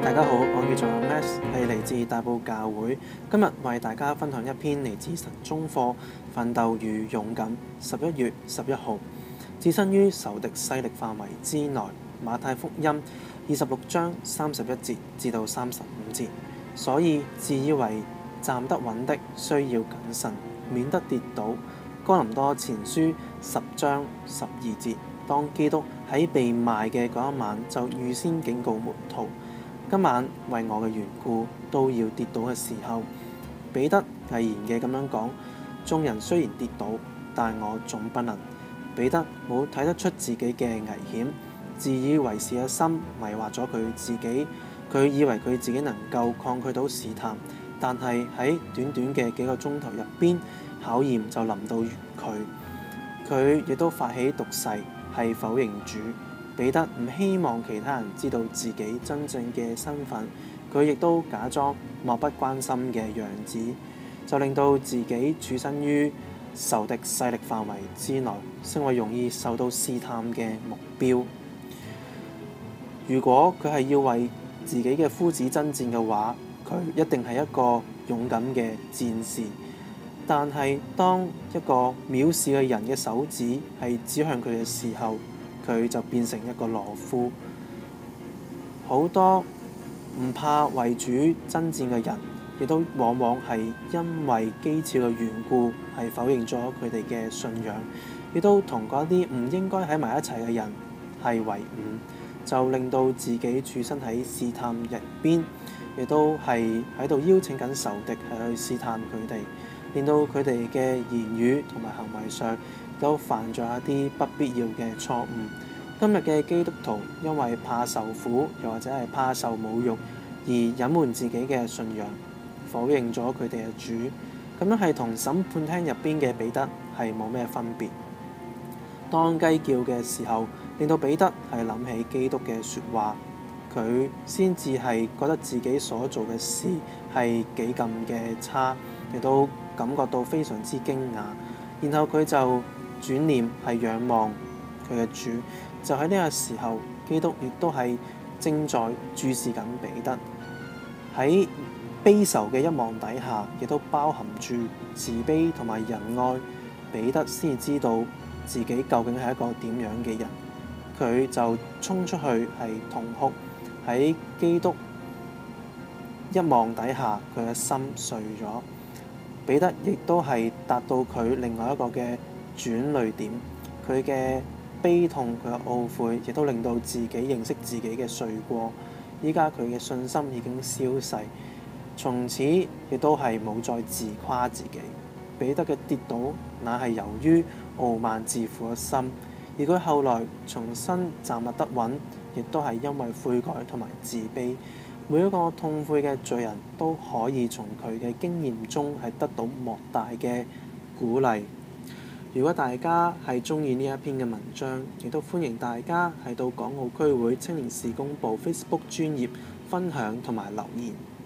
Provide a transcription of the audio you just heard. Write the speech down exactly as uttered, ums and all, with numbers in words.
大家好，我叫做 Max， 係嚟自大埔教會。今日為大家分享一篇嚟自神中課《奮鬥與勇敢》，十一月十一號，置身於仇敵勢力範圍之內。馬太福音二十六章三十一節至到三十五節。所以自以為站得穩的，需要謹慎，免得跌倒。哥林多前書十章十二節。當基督喺被賣嘅嗰一晚，就預先警告門徒：今晚為我嘅緣故都要跌倒嘅時候，彼得毅然嘅咁樣講：眾人雖然跌倒，但我總不能。彼得冇睇得出自己嘅危險，自以為是嘅心迷惑咗佢自己。佢以為佢自己能夠抗拒到試探，但係喺短短嘅幾個鐘頭入邊，考驗就臨到佢。佢亦都發起毒誓，係否認主。彼得唔希望其他人知道自己真正嘅身份，佢亦都假裝漠不關心嘅樣子，就令到自己處身於仇敵勢力範圍之內，成為容易受到試探嘅目標。如果佢係要為自己嘅夫子爭戰嘅話，佢一定係一個勇敢嘅戰士。但係當一個藐視嘅人嘅手指係指向佢嘅時候，佢就變成一個懦夫。好多唔怕為主爭戰嘅人，亦都往往係因為譏誚嘅緣故，係否認咗佢哋嘅信仰，亦都同嗰啲唔應該喺埋一齊嘅人係為伍，就令到自己處身喺試探入邊，亦都係喺度邀請緊仇敵係去試探佢哋，令到佢哋嘅言語同埋行為上都犯咗一啲不必要嘅錯誤。今日嘅基督徒因為怕受苦，又或者係怕受侮辱，而隱瞞自己嘅信仰，否認咗佢哋嘅主，咁樣係同審判廳入邊嘅彼得係冇咩分別。當雞叫嘅時候，令到彼得係諗起基督嘅説話，佢先至係覺得自己所做嘅事係幾咁嘅差，亦都感覺到非常之驚訝。然後佢就轉念係仰望佢嘅主，就喺呢個時候，基督亦都係正在注視緊彼得。喺悲愁嘅一望底下，亦都包含住慈悲同埋仁愛。彼得先知道自己究竟係一個點樣嘅人，佢就衝出去係痛哭。喺基督一望底下，佢嘅心碎咗。彼得亦都係達到佢另外一個嘅轉捩點，佢嘅悲痛，佢嘅懊悔，亦都令到自己認識自己嘅罪過。依家佢嘅信心已經消逝，從此亦都係冇再自誇自己。彼得嘅跌倒，乃係由於傲慢自負嘅心，而佢後來重新站立得穩，亦都係因為悔改同埋自卑。每一個痛悔嘅罪人都可以從佢嘅經驗中係得到莫大嘅鼓勵。如果大家係鍾意呢一篇嘅文章，亦都歡迎大家係到港澳區會青年事工部 Facebook 專頁分享同埋留言。